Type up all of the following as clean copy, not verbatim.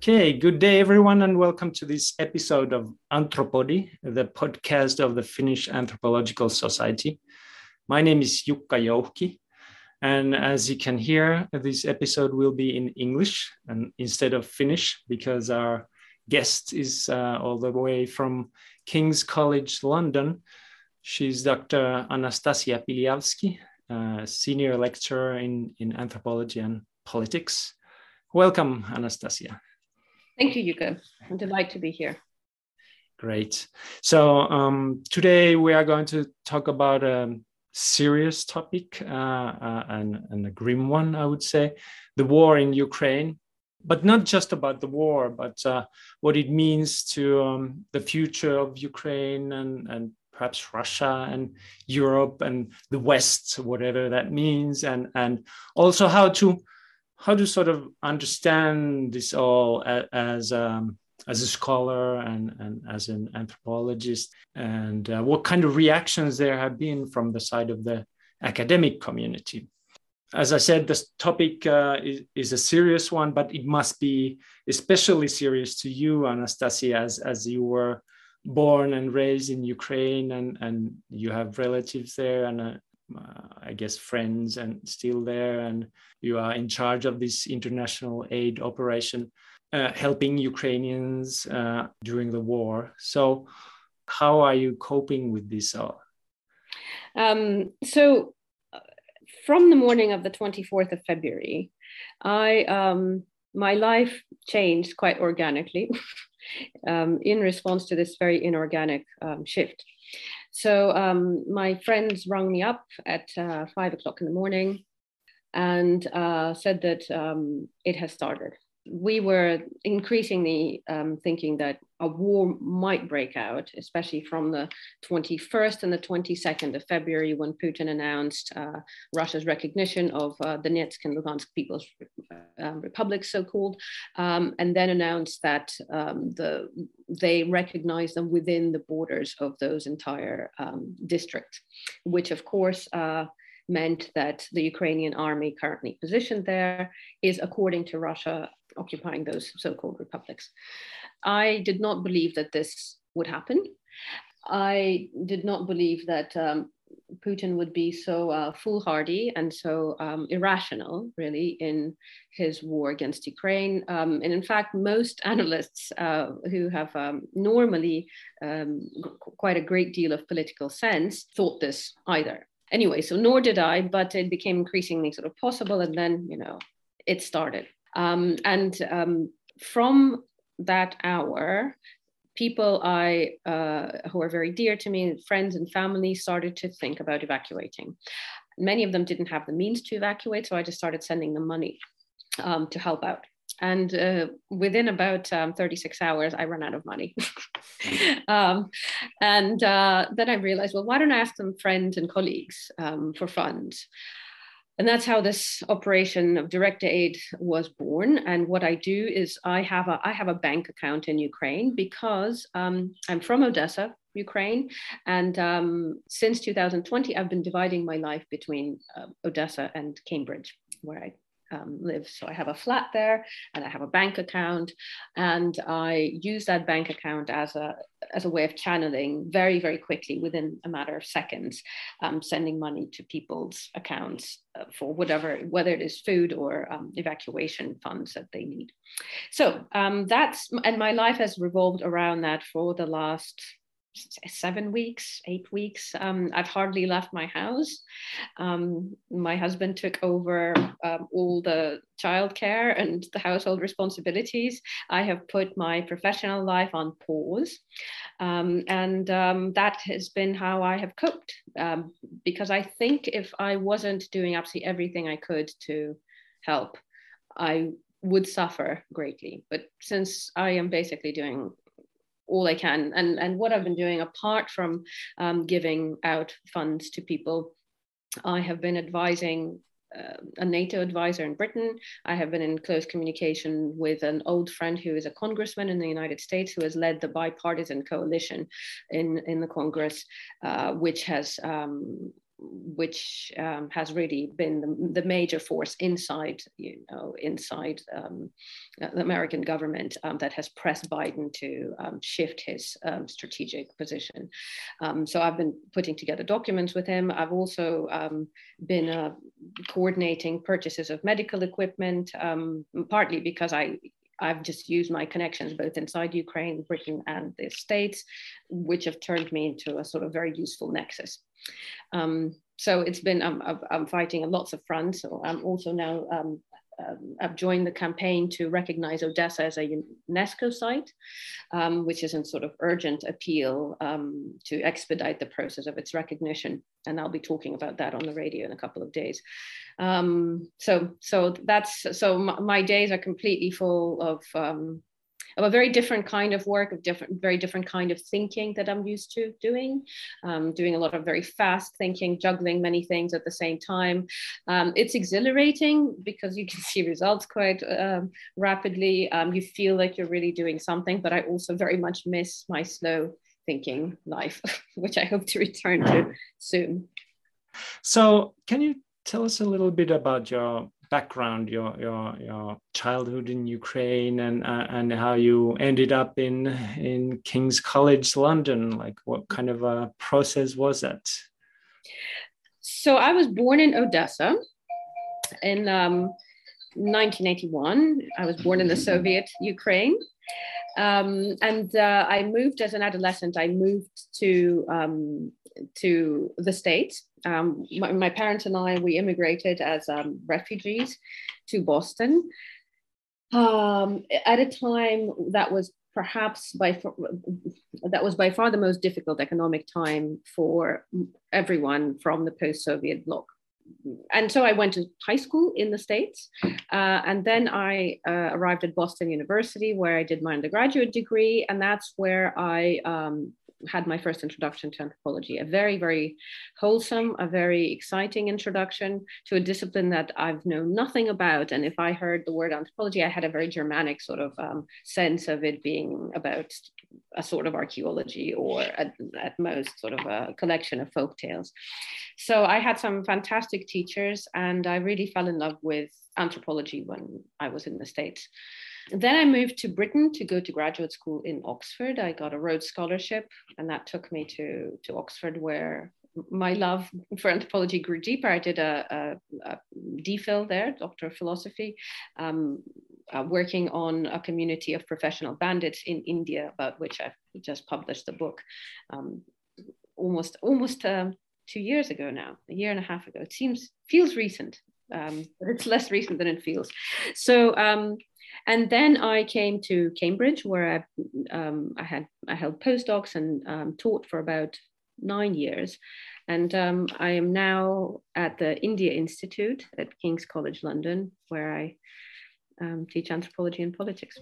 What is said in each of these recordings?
Okay, good day, everyone, and welcome to this episode of Anthropody, the podcast of the Finnish Anthropological Society. My name is Jukka Jouhki, and as you can hear, this episode will be in English and instead of Finnish because our guest is all the way from King's College London. She's Dr. Anastasia Piliavski, senior lecturer in anthropology and politics. Welcome, Anastasia. Thank you, Jukka. I'm delighted to be here. Great. So today we are going to talk about a serious topic and a grim one, I would say, the war in Ukraine, but not just about the war, but what it means to the future of Ukraine and perhaps Russia and Europe and the West, whatever that means, and also how to sort of understand this all as a scholar and as an anthropologist, and what kind of reactions there have been from the side of the academic community. As I said, this topic is a serious one, but it must be especially serious to you, Anastasia, as you were born and raised in Ukraine, and you have relatives there and I guess friends and still there, and you are in charge of this international aid operation, helping Ukrainians during the war. So how are you coping with this all? So from the morning of the 24th of February, my life changed quite organically in response to this very inorganic shift. So my friends rang me up at 5 o'clock in the morning and said that it has started. We were increasingly thinking that a war might break out, especially from the 21st and the 22nd of February, when Putin announced Russia's recognition of Donetsk and Lugansk People's Republics, so-called, and then announced that they recognized them within the borders of those entire districts, which of course meant that the Ukrainian army currently positioned there is, according to Russia, occupying those so-called republics. I did not believe that this would happen. I did not believe that Putin would be so foolhardy and so irrational, really, in his war against Ukraine. And in fact, most analysts who have normally quite a great deal of political sense thought this either. Anyway, so nor did I, but it became increasingly sort of possible, and then, it started. From that hour, people who are very dear to me, friends and family, started to think about evacuating. Many of them didn't have the means to evacuate, so I just started sending them money to help out. And within about 36 hours, I ran out of money. Then I realized, well, why don't I ask some friends and colleagues for funds? And that's how this operation of direct aid was born. And what I do is I have a bank account in Ukraine because I'm from Odessa, Ukraine. And since 2020, I've been dividing my life between Odessa and Cambridge, where I live. So I have a flat there and I have a bank account, and I use that bank account as a way of channeling very, very quickly, within a matter of seconds, sending money to people's accounts for whatever, whether it is food or evacuation funds that they need. So and my life has revolved around that for the last 7 weeks, 8 weeks. I've hardly left my house. My husband took over all the childcare and the household responsibilities. I have put my professional life on pause. That has been how I have coped. Because I think if I wasn't doing absolutely everything I could to help, I would suffer greatly. But since I am basically doing all I can, and what I've been doing, apart from giving out funds to people, I have been advising a NATO advisor in Britain. I have been in close communication with an old friend who is a congressman in the United States, who has led the bipartisan coalition in the Congress, which has which has really been the major force inside the American government that has pressed Biden to shift his strategic position. So I've been putting together documents with him. I've also been coordinating purchases of medical equipment, partly because I've just used my connections both inside Ukraine, Britain, and the States, which have turned me into a sort of very useful nexus. So it's been, I'm fighting on lots of fronts. So I'm also now, I've joined the campaign to recognize Odessa as a UNESCO site, which is in sort of urgent appeal to expedite the process of its recognition. And I'll be talking about that on the radio in a couple of days. So my days are completely full of a very different kind of work, very different kind of thinking that I'm used to doing a lot of very fast thinking, juggling many things at the same time. It's exhilarating because you can see results quite rapidly. You feel like you're really doing something, but I also very much miss my slow thinking life, which I hope to return to soon. So can you tell us a little bit about your background, your childhood in Ukraine, and how you ended up in King's College London? Like, what kind of a process was that? So I was born in Odessa in 1981. I was born in the Soviet Ukraine. And I moved as an adolescent. I moved to the States. My parents and I, we immigrated as refugees to Boston at a time that was perhaps by far the most difficult economic time for everyone from the post-Soviet bloc. And so I went to high school in the States, and then I arrived at Boston University, where I did my undergraduate degree, and that's where I had my first introduction to anthropology, a very, very wholesome, a very exciting introduction to a discipline that I've known nothing about. And if I heard the word anthropology, I had a very Germanic sort of sense of it being about a sort of archaeology, or at most sort of a collection of folk tales. So I had some fantastic teachers, and I really fell in love with anthropology when I was in the States. Then I moved to Britain to go to graduate school in Oxford. I got a Rhodes Scholarship, and that took me to Oxford, where my love for anthropology grew deeper. I did a DPhil there, Doctor of Philosophy, working on a community of professional bandits in India, about which I've just published a book almost 2 years ago now, a year and a half ago. It feels recent, but it's less recent than it feels. So, and then I came to Cambridge, where I held postdocs and taught for about 9 years. And I am now at the India Institute at King's College London, where I teach anthropology and politics.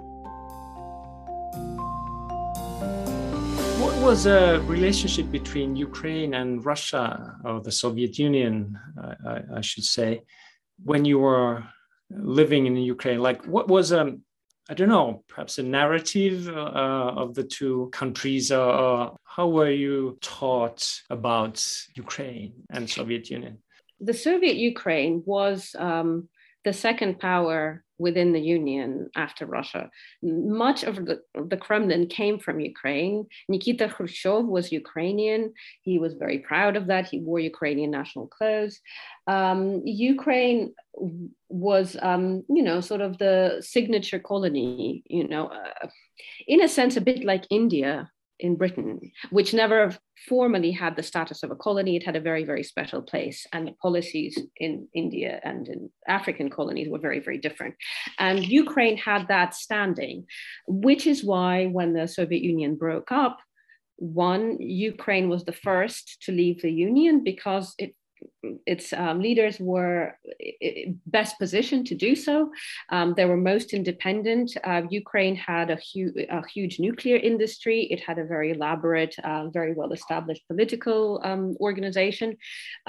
What was a relationship between Ukraine and Russia, or the Soviet Union, I should say, when you were living in Ukraine? Like, what was I don't know, perhaps a narrative of the two countries, or how were you taught about Ukraine and Soviet Union? The Soviet Ukraine was the second power within the Union after Russia. Much of the Kremlin came from Ukraine. Nikita Khrushchev was Ukrainian. He was very proud of that. He wore Ukrainian national clothes. Ukraine was, sort of the signature colony, in a sense, a bit like India in Britain, which never formally had the status of a colony. It had a very, very special place, and the policies in India and in African colonies were very, very different. And Ukraine had that standing, which is why when the Soviet Union broke up, Ukraine was the first to leave the Union because its leaders were best positioned to do so. They were most independent. Ukraine had a huge nuclear industry. It had a very elaborate, very well-established political organization.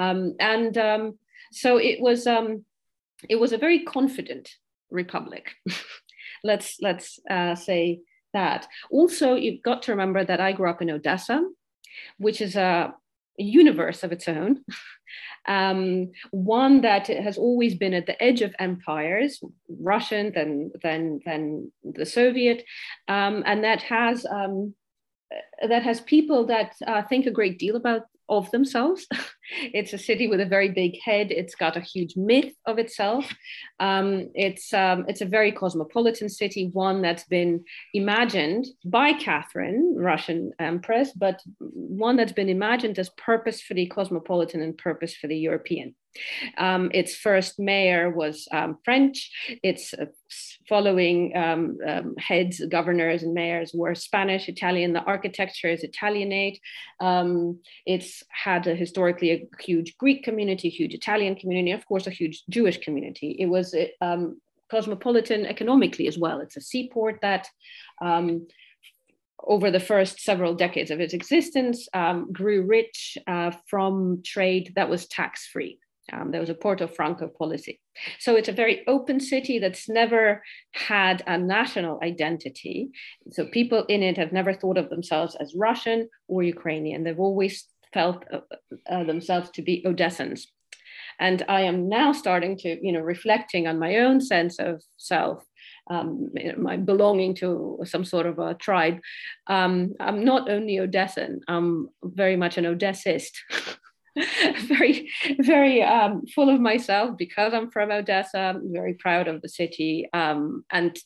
So it was a very confident republic. Let's say that. Also, you've got to remember that I grew up in Odessa, which is a universe of its own, one that has always been at the edge of empires, Russian, then the Soviet, and that has people that think a great deal of themselves. It's a city with a very big head. It's got a huge myth of itself. It's a very cosmopolitan city, one that's been imagined by Catherine, Russian Empress, but one that's been imagined as purposefully cosmopolitan and purposefully European. Its first mayor was French. Its following heads, governors, and mayors were Spanish, Italian. The architecture is Italianate. It's had historically a huge Greek community, huge Italian community, of course, a huge Jewish community. It was cosmopolitan economically as well. It's a seaport that over the first several decades of its existence, grew rich from trade that was tax-free. There was a Porto Franco policy. So it's a very open city that's never had a national identity. So people in it have never thought of themselves as Russian or Ukrainian. They've always felt themselves to be Odessans. And I am now starting to, reflecting on my own sense of self, my belonging to some sort of a tribe. I'm not only Odessan, I'm very much an Odessist. very, very full of myself because I'm from Odessa. I'm very proud of the city. And,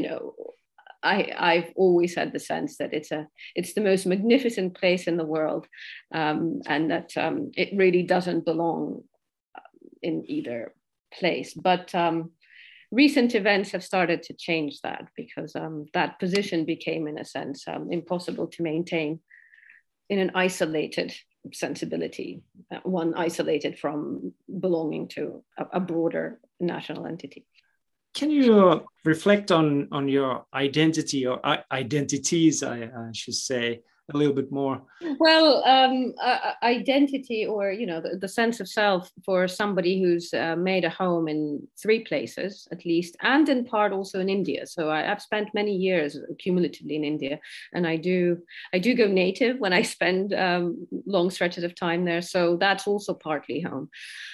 I've always had the sense that it's the most magnificent place in the world, and that it really doesn't belong in either place. But recent events have started to change that, because that position became, in a sense, impossible to maintain in an isolated sensibility, one isolated from belonging to a broader national entity. Can you reflect on your identity, or identities, I should say, a little bit more? Well, identity, or the sense of self for somebody who's made a home in 3 places at least, and in part also in India. So I've spent many years cumulatively in India, and I do go native when I spend long stretches of time there. So that's also partly home.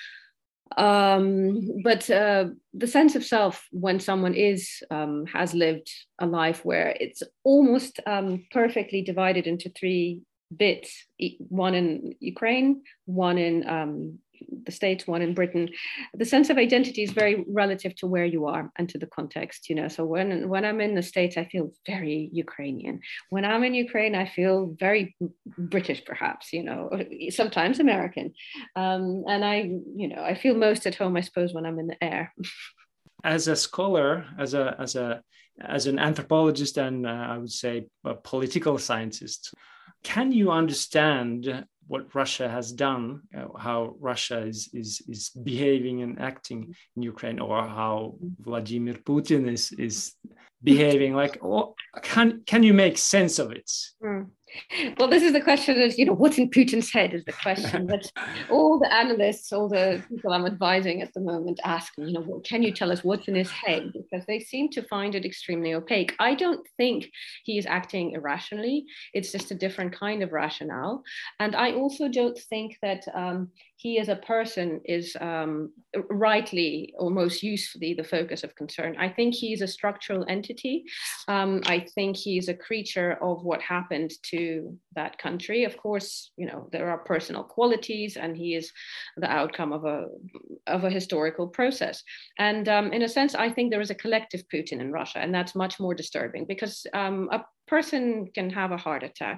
But the sense of self when someone has lived a life where it's almost perfectly divided into 3 bits, one in Ukraine, one in the States, one in Britain. The sense of identity is very relative to where you are and to the context, So when I'm in the States, I feel very Ukrainian. When I'm in Ukraine, I feel very British, perhaps, sometimes American. And I feel most at home, I suppose, when I'm in the air. As a scholar, as an anthropologist, and I would say a political scientist, can you understand what Russia has done, how Russia is behaving and acting in Ukraine, or how Vladimir Putin is behaving? Can you make sense of it? Well, this is the question of, what's in Putin's head is the question that all the analysts, all the people I'm advising at the moment ask me, well, can you tell us what's in his head? Because they seem to find it extremely opaque. I don't think he is acting irrationally. It's just a different kind of rationale. And I also don't think that he as a person is rightly or most usefully the focus of concern. I think he's a structural entity. I think he's a creature of what happened to that country. Of course, there are personal qualities, and he is the outcome of a historical process. And in a sense, I think there is a collective Putin in Russia, and that's much more disturbing, because a person can have a heart attack.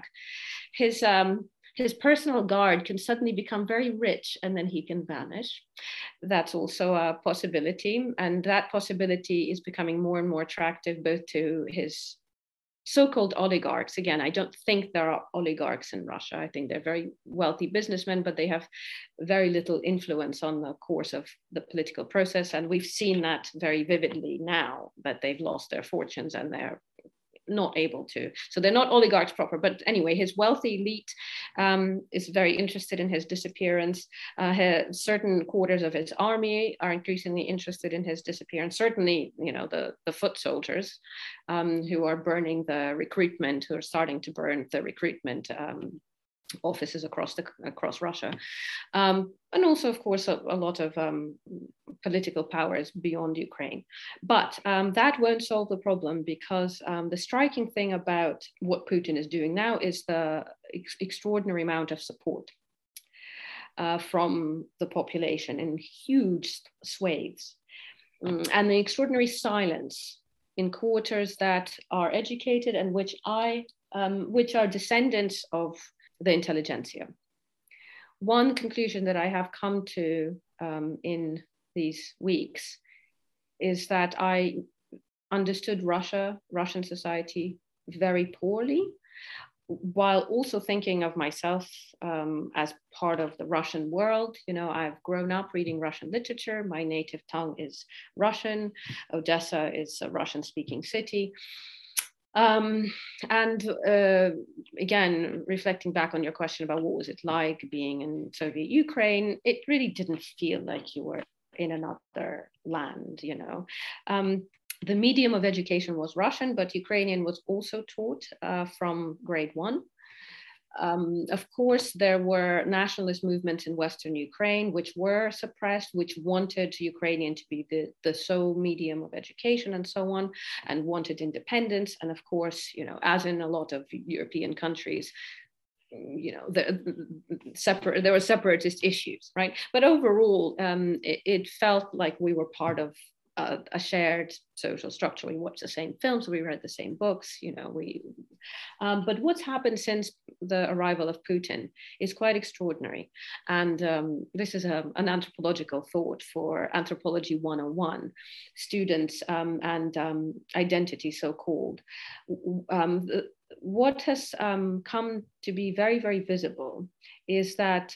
His personal guard can suddenly become very rich, and then he can vanish. That's also a possibility. And that possibility is becoming more and more attractive, both to his so-called oligarchs. Again, I don't think there are oligarchs in Russia. I think they're very wealthy businessmen, but they have very little influence on the course of the political process. And we've seen that very vividly now that they've lost their fortunes and they're not able to. So they're not oligarchs proper. But anyway, his wealthy elite is very interested in his disappearance. Certain quarters of his army are increasingly interested in his disappearance. Certainly, the foot soldiers who are burning the recruitment, who are starting to burn the recruitment offices across Russia, and also, of course, a lot of political powers beyond Ukraine. But that won't solve the problem, because the striking thing about what Putin is doing now is the extraordinary amount of support from the population in huge swathes, and the extraordinary silence in quarters that are educated and which are descendants of the intelligentsia. One conclusion that I have come to in these weeks is that I understood Russian society very poorly, while also thinking of myself as part of the Russian world. You know, I've grown up reading Russian literature. My native tongue is Russian. Odessa is a Russian-speaking city. Again, reflecting back on your question about what was it like being in Soviet Ukraine, it really didn't feel like you were in another land, you know. The medium of education was Russian, but Ukrainian was also taught from grade 1. Of course, there were nationalist movements in Western Ukraine, which were suppressed, which wanted Ukrainian to be the sole medium of education and so on, and wanted independence. And of course, you know, as in a lot of European countries, you know, there were separatist issues, right? But overall, it felt like we were part of a shared social structure. We watched the same films, we read the same books, you know. But what's happened since the arrival of Putin is quite extraordinary. And this is an anthropological thought for Anthropology 101 students and identity, so-called. What has come to be very, very visible is that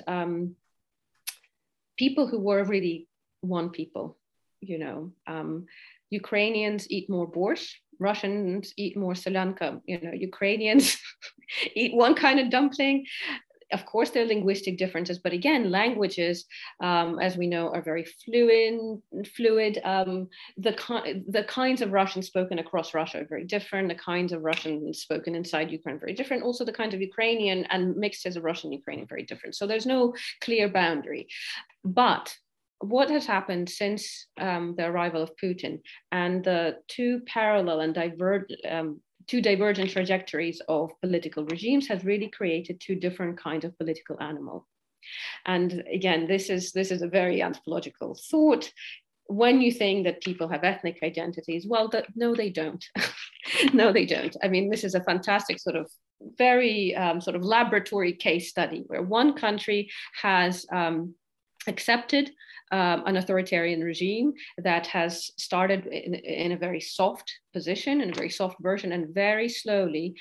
people who were really one people, you know, Ukrainians eat more borscht, Russians eat more solyanka, you know, Ukrainians eat one kind of dumpling. Of course, there are linguistic differences, but again, languages, as we know, are very fluid. The kinds of Russian spoken across Russia are very different. The kinds of Russian spoken inside Ukraine are very different. Also, the kinds of Ukrainian and mixtures of Russian and Ukrainian are very different. So there's no clear boundary. But what has happened since the arrival of Putin and the two parallel and two divergent trajectories of political regimes has really created two different kinds of political animal. And again, this is a very anthropological thought. When you think that people have ethnic identities, well, no, they don't. No, they don't. I mean, this is a fantastic sort of very sort of laboratory case study where one country has accepted an authoritarian regime that has started in a very soft position, in a very soft version, and very slowly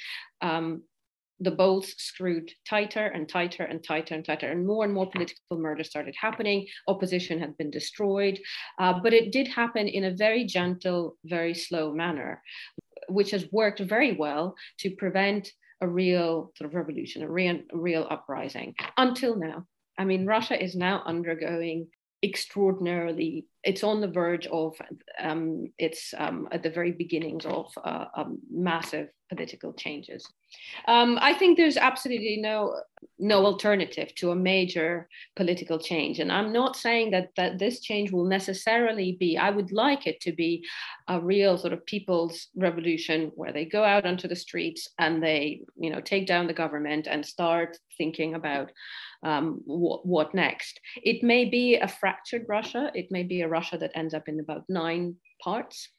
the bolts screwed tighter and tighter and tighter and tighter, and more political murder started happening. Opposition had been destroyed, but it did happen in a very gentle, very slow manner, which has worked very well to prevent a real sort of revolution, a real uprising until now. I mean, Russia is now undergoing extraordinarily, it's on the verge of, it's at the very beginnings of massive political changes. I think there's absolutely no alternative to a major political change. And I'm not saying that this change will necessarily be, I would like it to be a real sort of people's revolution where they go out onto the streets and they, you know, take down the government and start thinking about what next. It may be a fractured Russia. It may be a Russia that ends up in about 9 parts.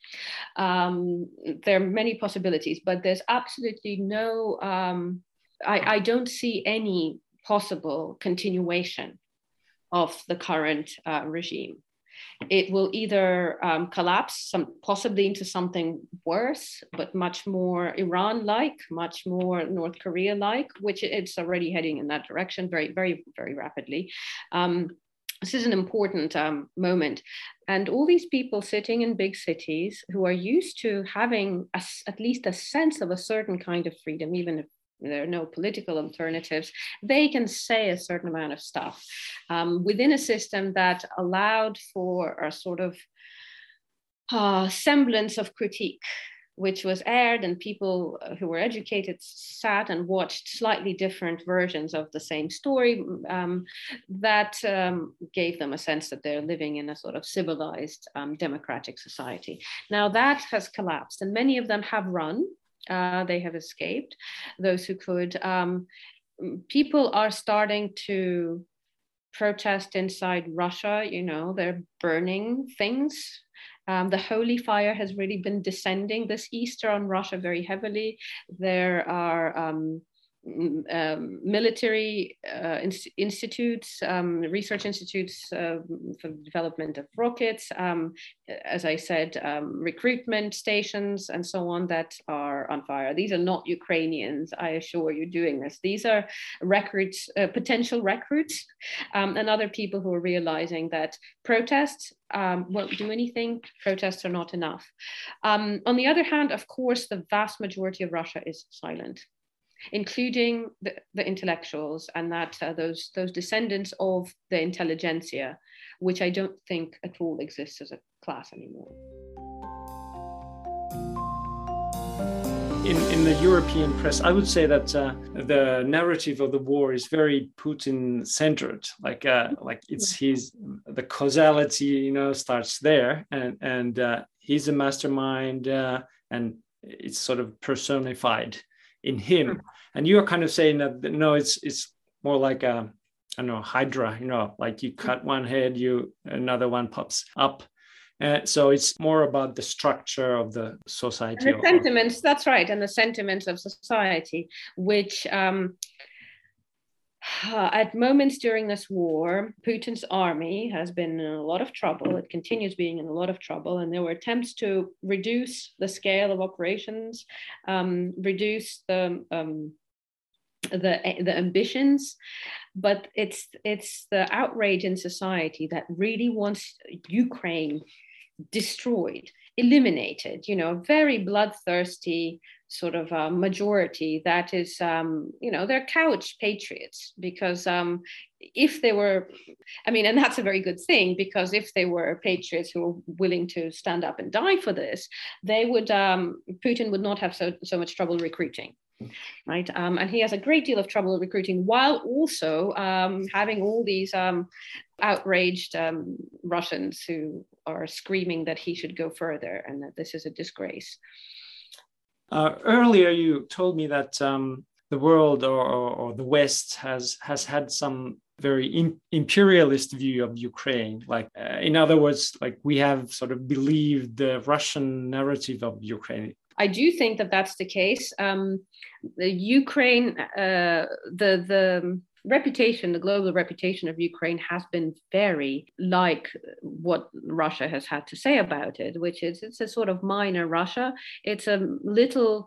There are many possibilities, but there's absolutely no, I don't see any possible continuation of the current regime. It will either collapse possibly into something worse, but much more Iran-like, much more North Korea-like, which it's already heading in that direction very, very, very rapidly. This is an important moment. And all these people sitting in big cities who are used to having at least a sense of a certain kind of freedom, even if there are no political alternatives, they can say a certain amount of stuff within a system that allowed for a sort of semblance of critique, which was aired, and people who were educated sat and watched slightly different versions of the same story, that gave them a sense that they're living in a sort of civilized, democratic society. Now that has collapsed, and many of them have run. They have escaped, those who could. People are starting to protest inside Russia. You know, they're burning things. The holy fire has really been descending this Easter on Russia very heavily. There are military institutes, research institutes for the development of rockets, as I said, recruitment stations and so on that are on fire. These are not Ukrainians, I assure you, doing this. These are recruits, potential recruits, and other people who are realizing that protests won't do anything. Protests are not enough. On the other hand, of course, the vast majority of Russia is silent, including the intellectuals, and that those descendants of the intelligentsia, which I don't think at all exists as a class anymore. In the European press, I would say that the narrative of the war is very Putin-centered. Like it's the causality, you know, starts there, and he's a mastermind, and it's sort of personified in him. And you're kind of saying that no, it's more like a, I don't know, Hydra, you know, like you cut one head, another one pops up. So it's more about the structure of the society. And the sentiments, that's right, and the sentiments of society, which at moments during this war, Putin's army has been in a lot of trouble. It continues being in a lot of trouble. And there were attempts to reduce the scale of operations, reduce the ambitions. But it's the outrage in society that really wants Ukraine destroyed, eliminated, you know, very bloodthirsty sort of majority that is, you know, they're couch patriots, because if they were, I mean, and that's a very good thing, because if they were patriots who were willing to stand up and die for this, they would, Putin would not have so much trouble recruiting. Right. And he has a great deal of trouble recruiting, while also having all these outraged Russians who are screaming that he should go further and that this is a disgrace. Earlier, you told me that the world or the West has had some very imperialist view of Ukraine. Like, in other words, like we have sort of believed the Russian narrative of Ukraine. I do think that that's the case. The Ukraine, the reputation, the global reputation of Ukraine has been very like what Russia has had to say about it, which is it's a sort of minor Russia. It's a little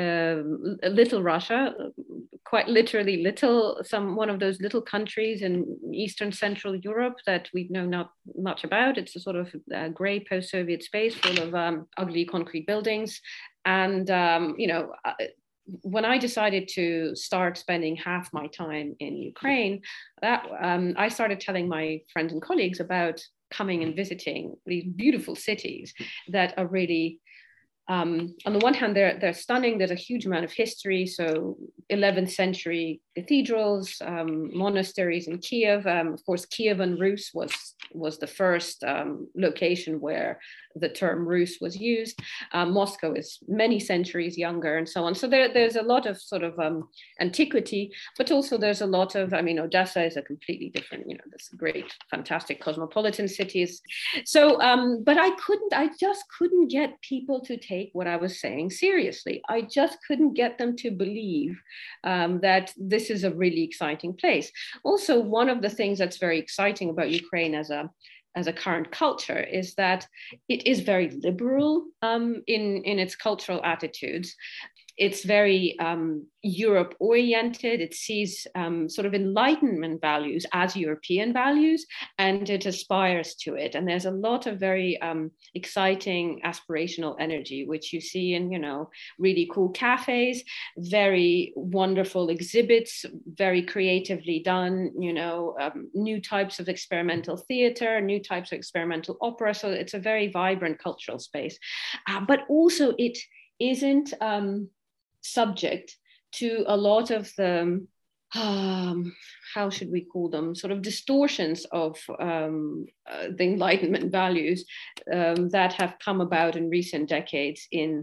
Russia, quite literally little, one of those little countries in Eastern Central Europe that we know not much about. It's a sort of gray post-Soviet space full of ugly concrete buildings. And, you know, when I decided to start spending half my time in Ukraine, I started telling my friends and colleagues about coming and visiting these beautiful cities that are really, on the one hand, they're stunning. There's a huge amount of history. So 11th century cathedrals, monasteries in Kiev. Of course, Kievan Rus was the first location where the term Rus was used. Moscow is many centuries younger, and so on. So there's a lot of sort of antiquity, but also there's a lot of, I mean, Odessa is a completely different, you know, this great, fantastic cosmopolitan cities. So, but I just couldn't get people to take what I was saying seriously. I just couldn't get them to believe that this is a really exciting place. Also, one of the things that's very exciting about Ukraine as a current culture is that it is very liberal in its cultural attitudes. It's very Europe oriented. It sees sort of Enlightenment values as European values, and it aspires to it. And there's a lot of very exciting aspirational energy, which you see in, you know, really cool cafes, very wonderful exhibits, very creatively done, you know, new types of experimental theater, new types of experimental opera. So it's a very vibrant cultural space, but also isn't subject to a lot of the how should we call them, sort of distortions of the Enlightenment values that have come about in recent decades in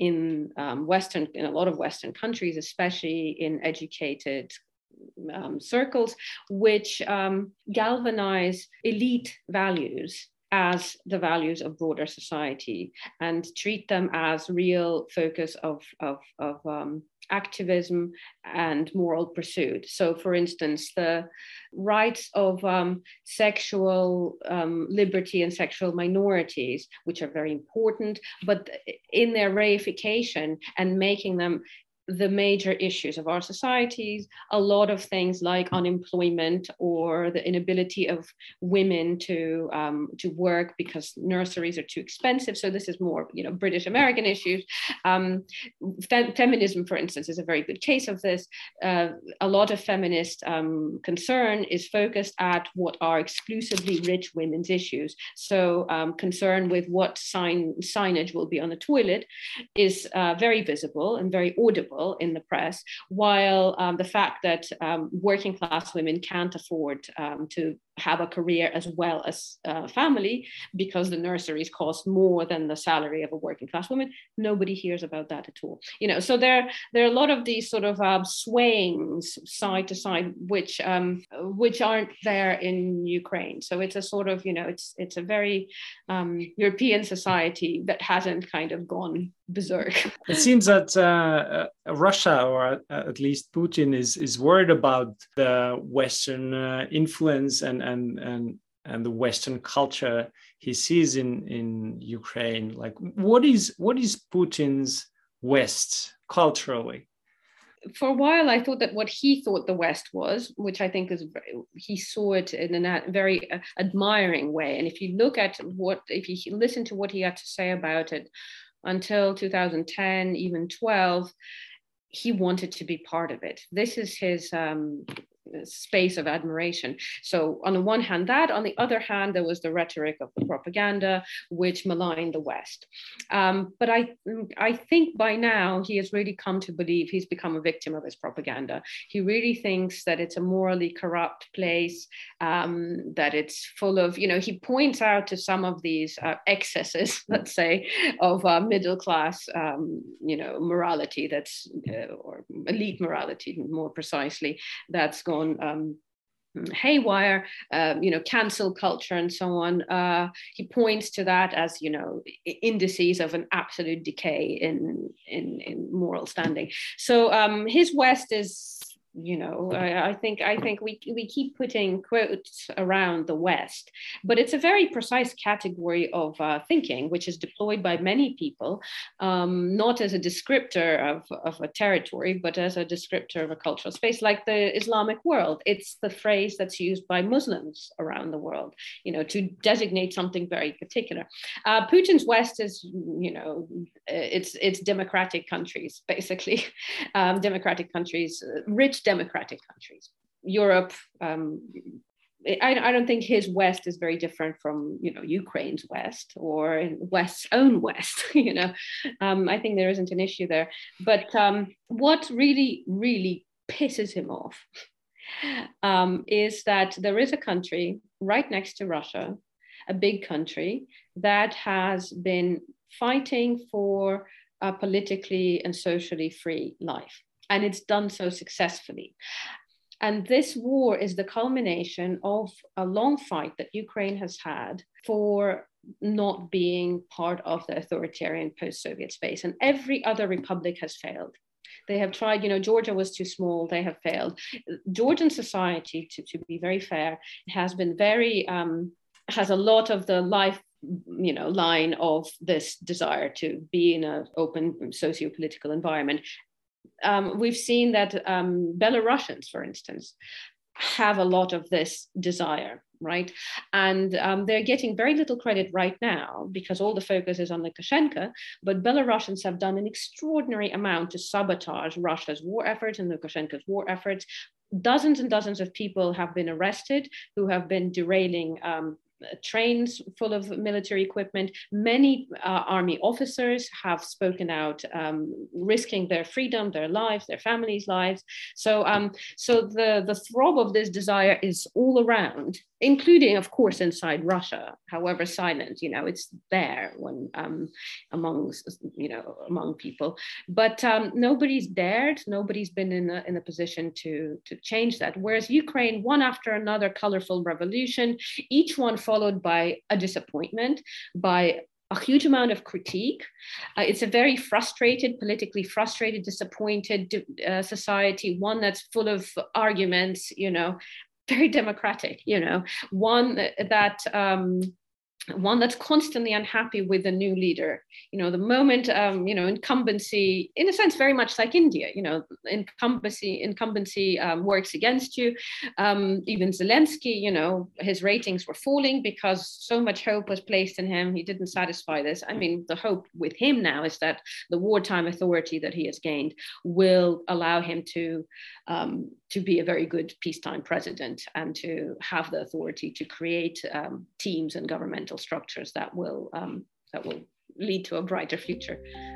a lot of Western countries, especially in educated circles, which galvanize elite values as the values of broader society and treat them as real focus of activism and moral pursuit. So, for instance, the rights of sexual liberty and sexual minorities, which are very important, but in their reification and making them the major issues of our societies, a lot of things like unemployment or the inability of women to work because nurseries are too expensive. So this is more, British American issues. Feminism, for instance, is a very good case of this. A lot of feminist concern is focused at what are exclusively rich women's issues. So concern with what signage will be on the toilet is very visible and very audible in the press, while the fact that working class women can't afford to have a career as well as family because the nurseries cost more than the salary of a working class woman, nobody hears about that at all. So there are a lot of these sort of swayings side to side, which aren't there in Ukraine. So it's a sort of, it's a very European society that hasn't kind of gone berserk. It seems that Russia, or at least Putin, is worried about the Western influence and the Western culture he sees in Ukraine. Like, what is Putin's West culturally? For a while, I thought that what he thought the West was, which I think is, he saw it in a very admiring way. And if you listen to what he had to say about it until 2010, even 12, he wanted to be part of it. This is his space of admiration. So on the one hand that, on the other hand, there was the rhetoric of the propaganda which maligned the West. But I think by now he has really come to believe he's become a victim of his propaganda. He really thinks that it's a morally corrupt place, that it's full of, he points out to some of these excesses, let's say, of middle class, morality that's, or elite morality more precisely, that's gone haywire, cancel culture and so on. He points to that as, indices of an absolute decay in moral standing. So his West is, I think we keep putting quotes around the West, but it's a very precise category of thinking, which is deployed by many people, not as a descriptor of a territory, but as a descriptor of a cultural space, like the Islamic world. It's the phrase that's used by Muslims around the world, to designate something very particular. Putin's West is, it's democratic countries, basically, democratic countries, rich democratic countries. Europe, I don't think his West is very different from, Ukraine's West or West's own West. I think there isn't an issue there. But what really, really pisses him off is that there is a country right next to Russia, a big country that has been fighting for a politically and socially free life. And it's done so successfully. And this war is the culmination of a long fight that Ukraine has had for not being part of the authoritarian post-Soviet space. And every other republic has failed. They have tried, Georgia was too small, they have failed. Georgian society, to be very fair, has been very, has a lot of the life line of this desire to be in an open socio-political environment. We've seen that Belarusians, for instance, have a lot of this desire, right? And they're getting very little credit right now because all the focus is on Lukashenko, but Belarusians have done an extraordinary amount to sabotage Russia's war efforts and Lukashenko's war efforts. Dozens and dozens of people have been arrested who have been derailing trains full of military equipment. Many army officers have spoken out, risking their freedom, their lives, their families' lives. So the throb of this desire is all around, including, of course, inside Russia, however silent, it's there when among people. But nobody's dared, nobody's been in a position to change that. Whereas Ukraine, one after another colorful revolution, each one followed by a disappointment, by a huge amount of critique. It's a very frustrated, politically frustrated, disappointed society, one that's full of arguments, very democratic, one that's constantly unhappy with the new leader. The moment, incumbency, in a sense, very much like India, incumbency works against you. Even Zelensky, his ratings were falling because so much hope was placed in him. He didn't satisfy this. I mean, the hope with him now is that the wartime authority that he has gained will allow him to be a very good peacetime president and to have the authority to create teams and governmental structures that will lead to a brighter future.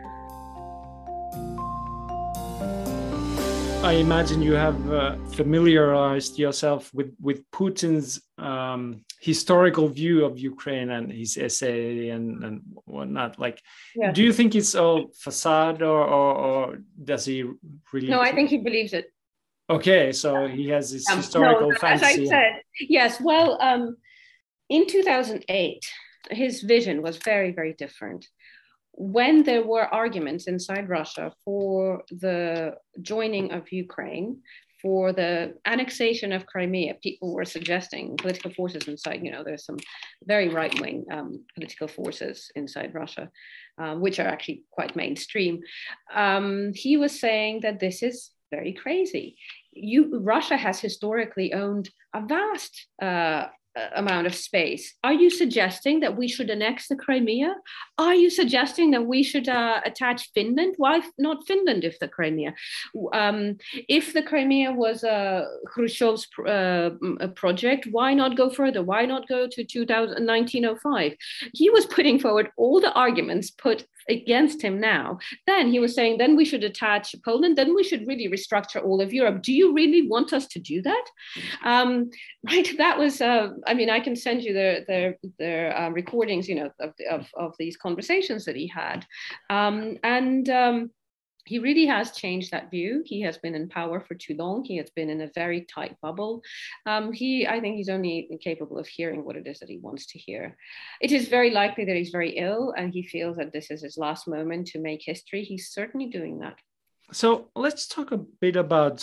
I imagine you have familiarized yourself with Putin's historical view of Ukraine and his essay and whatnot. Like, yeah. Do you think it's all facade or does he really? No, I think he believes it. Okay, so he has this historical fantasy. As I said, yes. Well, in 2008, his vision was very, very different. When there were arguments inside Russia for the joining of Ukraine, for the annexation of Crimea, people were suggesting, political forces inside, there's some very right-wing political forces inside Russia, which are actually quite mainstream. He was saying that this is very crazy. Russia has historically owned a vast amount of space. Are you suggesting that we should annex the Crimea? Are you suggesting that we should attach Finland? Why not Finland if the Crimea? If the Crimea was Khrushchev's project, why not go further? Why not go to 1905? He was putting forward all the arguments put against him now. Then he was saying, then we should attach Poland, then we should really restructure all of Europe. Do you really want us to do that? Right, that was, I can send you their recordings, of these conversations that he had. He really has changed that view. He has been in power for too long. He has been in a very tight bubble. I think he's only capable of hearing what it is that he wants to hear. It is very likely that he's very ill and he feels that this is his last moment to make history. He's certainly doing that. So let's talk a bit about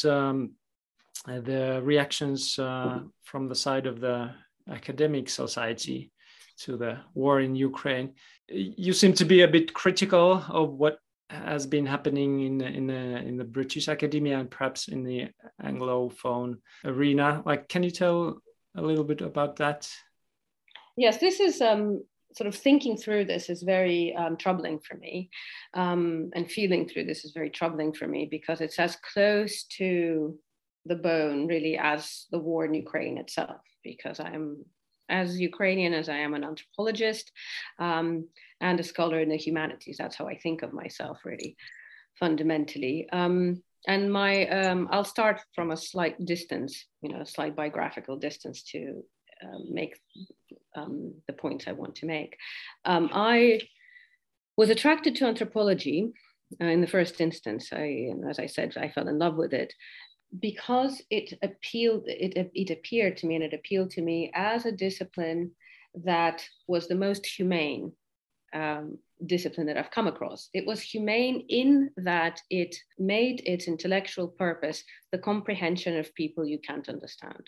the reactions from the side of the academic society to the war in Ukraine. You seem to be a bit critical of what has been happening in the British academia and perhaps in the Anglophone arena. Like, can you tell a little bit about that? Yes, this is sort of thinking through this is very troubling for me, and feeling through this is very troubling for me because it's as close to the bone really as the war in Ukraine itself, because I am as Ukrainian as I am an anthropologist and a scholar in the humanities. That's how I think of myself, really, fundamentally. And I'll start from a slight distance, a slight biographical distance to make the points I want to make. I was attracted to anthropology in the first instance. As I said, I fell in love with it because it appeared to me, and it appealed to me as a discipline that was the most humane discipline that I've come across. It was humane in that it made its intellectual purpose the comprehension of people you can't understand.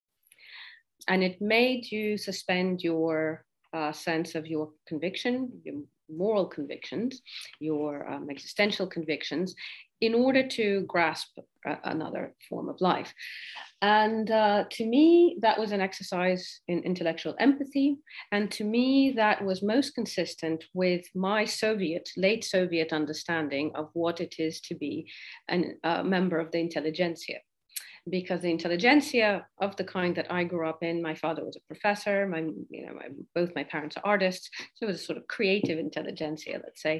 And it made you suspend your sense of your conviction, your moral convictions, your existential convictions, in order to grasp another form of life. And to me, that was an exercise in intellectual empathy. And to me, that was most consistent with my late Soviet understanding of what it is to be a member of the intelligentsia. because the intelligentsia of the kind that I grew up in, my father was a professor, both my parents are artists, so it was a sort of creative intelligentsia, let's say.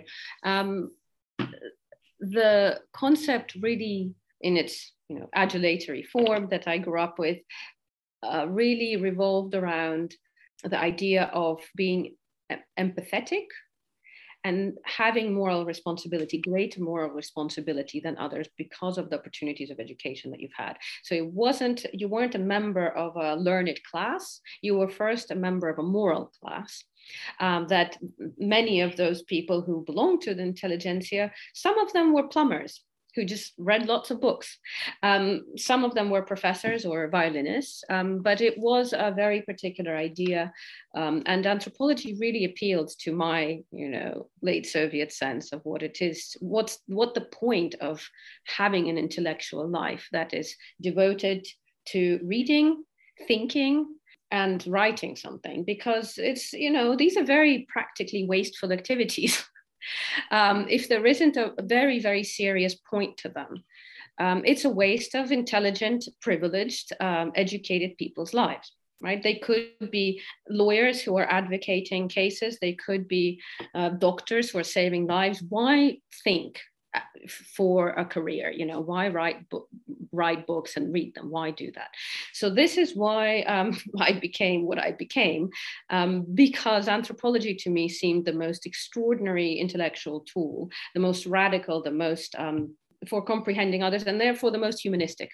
The concept really in its adulatory form that I grew up with really revolved around the idea of being empathetic and having moral responsibility, greater moral responsibility than others because of the opportunities of education that you've had. So you weren't a member of a learned class, you were first a member of a moral class. That many of those people who belonged to the intelligentsia, some of them were plumbers who just read lots of books. Some of them were professors or violinists, but it was a very particular idea. And anthropology really appealed to my, late Soviet sense of what it is, what the point of having an intellectual life that is devoted to reading, thinking, and writing something, because it's, these are very practically wasteful activities. If there isn't a very, very serious point to them, it's a waste of intelligent, privileged, educated people's lives, right? They could be lawyers who are advocating cases. They could be doctors who are saving lives. Why think for a career? Why write books and read them? Why do that? So this is why I became what I became, because anthropology to me seemed the most extraordinary intellectual tool, the most radical, the most for comprehending others, and therefore the most humanistic.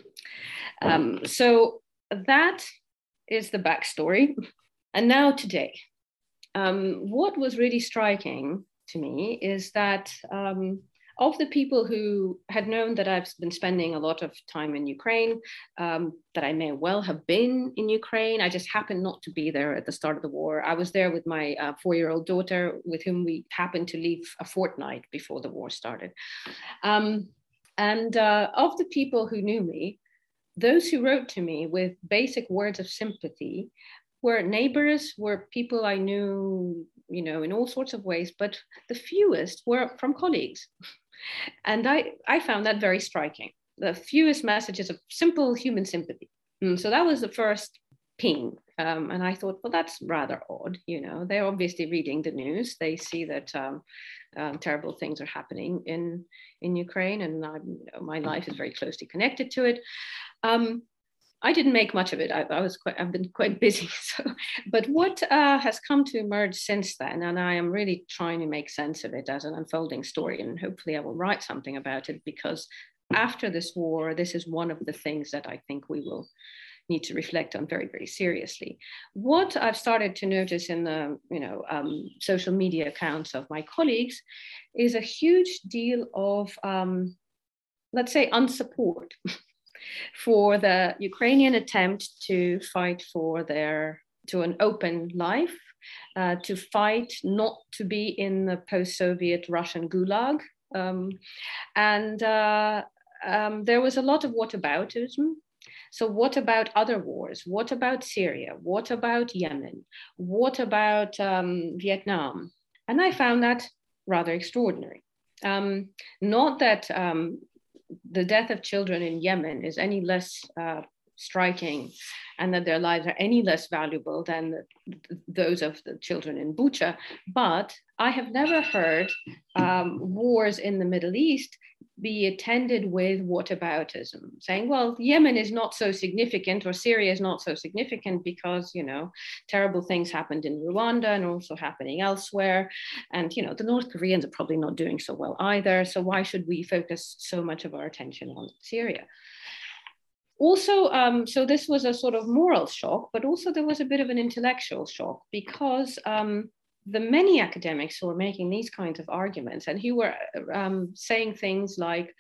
So that is the backstory. And now today, what was really striking to me is that of the people who had known that I've been spending a lot of time in Ukraine, that I may well have been in Ukraine, I just happened not to be there at the start of the war. I was there with my 4-year-old daughter, with whom we happened to leave a fortnight before the war started. And of the people who knew me, those who wrote to me with basic words of sympathy were neighbors, were people I knew, in all sorts of ways, but the fewest were from colleagues. And I found that very striking. The fewest messages of simple human sympathy. So that was the first ping. And I thought, well, that's rather odd. They're obviously reading the news. They see that terrible things are happening in Ukraine, and my life is very closely connected to it. I didn't make much of it. I've been quite busy. But what has come to emerge since then, and I am really trying to make sense of it as an unfolding story, and hopefully I will write something about it, because after this war, this is one of the things that I think we will need to reflect on very, very seriously. What I've started to notice in the social media accounts of my colleagues is a huge deal of, let's say, unsupport for the Ukrainian attempt to fight to an open life, to fight not to be in the post-Soviet Russian gulag. And there was a lot of whataboutism. So what about other wars? What about Syria? What about Yemen? What about Vietnam? And I found that rather extraordinary. Not that the death of children in Yemen is any less striking, and that their lives are any less valuable than those of the children in Bucha. But I have never heard wars in the Middle East be attended with whataboutism, saying, well, Yemen is not so significant, or Syria is not so significant because, terrible things happened in Rwanda and also happening elsewhere. And, the North Koreans are probably not doing so well either. So why should we focus so much of our attention on Syria? Also, so this was a sort of moral shock, but also there was a bit of an intellectual shock, because the many academics who were making these kinds of arguments, and who were saying things like,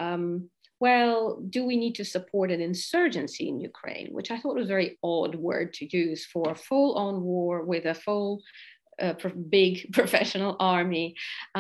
well, do we need to support an insurgency in Ukraine? Which I thought was a very odd word to use for a full-on war with a full, big professional army.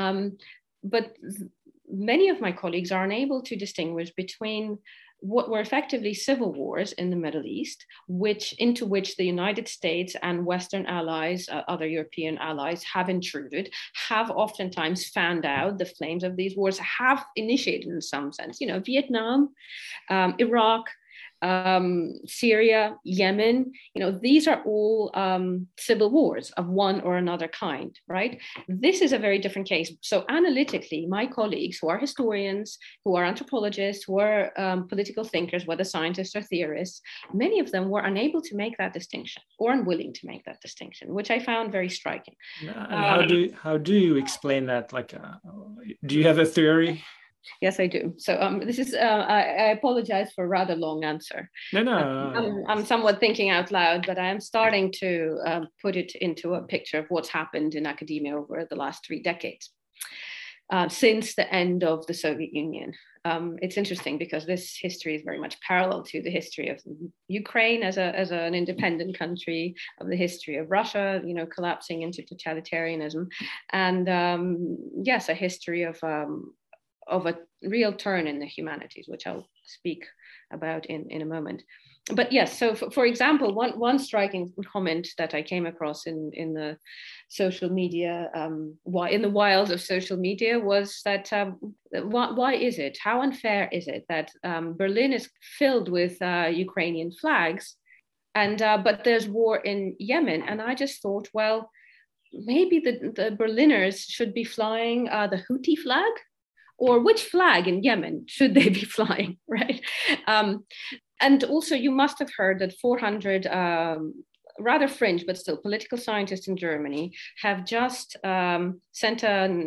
But many of my colleagues are unable to distinguish between what were effectively civil wars in the Middle East, into which the United States and Western allies, other European allies, have intruded, have oftentimes fanned out the flames of these wars, have initiated in some sense. Vietnam, Iraq, Syria, Yemen, these are all civil wars of one or another kind, right? This is a very different case. So analytically, my colleagues who are historians, who are anthropologists, who are political thinkers, whether scientists or theorists, many of them were unable to make that distinction or unwilling to make that distinction, which I found very striking. And how do you explain that? Like, do you have a theory? Yes, I do. So this is, I apologize for a rather long answer. No. I'm somewhat thinking out loud, but I am starting to put it into a picture of what's happened in academia over the last 3 decades, since the end of the Soviet Union. It's interesting because this history is very much parallel to the history of Ukraine as an independent country, of the history of Russia, collapsing into totalitarianism, and yes, a history of a real turn in the humanities, which I'll speak about in a moment. But yes, so for example, one striking comment that I came across in the social media, in the wilds of social media, was that why is it, how unfair is it that Berlin is filled with Ukrainian flags, and but there's war in Yemen? And I just thought, well, maybe the Berliners should be flying the Houthi flag. Or which flag in Yemen should they be flying, right? And also, you must have heard that 400 rather fringe, but still political scientists in Germany have just signed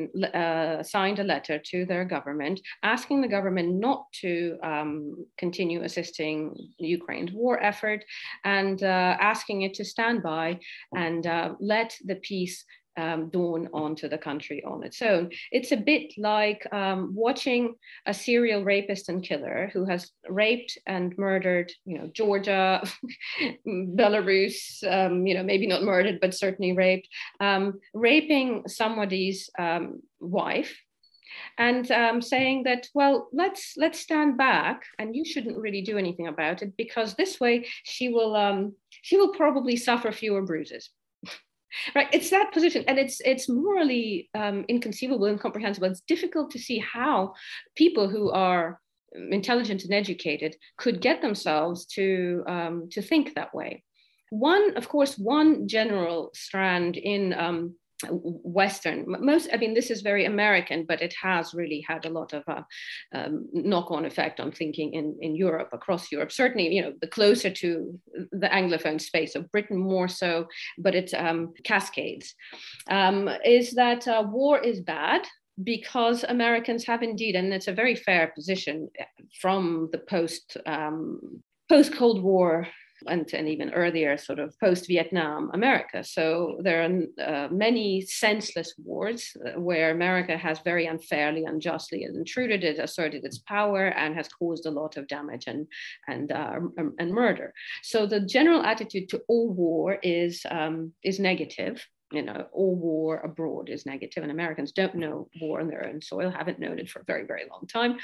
a letter to their government, asking the government not to continue assisting Ukraine's war effort, and asking it to stand by and let the peace dawn onto the country on its own. It's a bit like watching a serial rapist and killer who has raped and murdered, Georgia, Belarus, maybe not murdered, but certainly raped, raping somebody's wife, and saying that, well, let's stand back, and you shouldn't really do anything about it, because this way she will probably suffer fewer bruises. Right, it's that position, and it's morally inconceivable, incomprehensible. It's difficult to see how people who are intelligent and educated could get themselves to think that way. One general strand in Western, this is very American, but it has really had a lot of knock-on effect on thinking in Europe, across Europe. Certainly, the closer to the Anglophone space of Britain more so, but it cascades, is that war is bad, because Americans have indeed, and it's a very fair position from the post-Cold War and even earlier, sort of post-Vietnam America. So there are many senseless wars where America has very unfairly, unjustly intruded, it asserted its power, and has caused a lot of damage and murder. So the general attitude to all war is negative. All war abroad is negative, and Americans don't know war on their own soil, haven't known it for a very, very long time.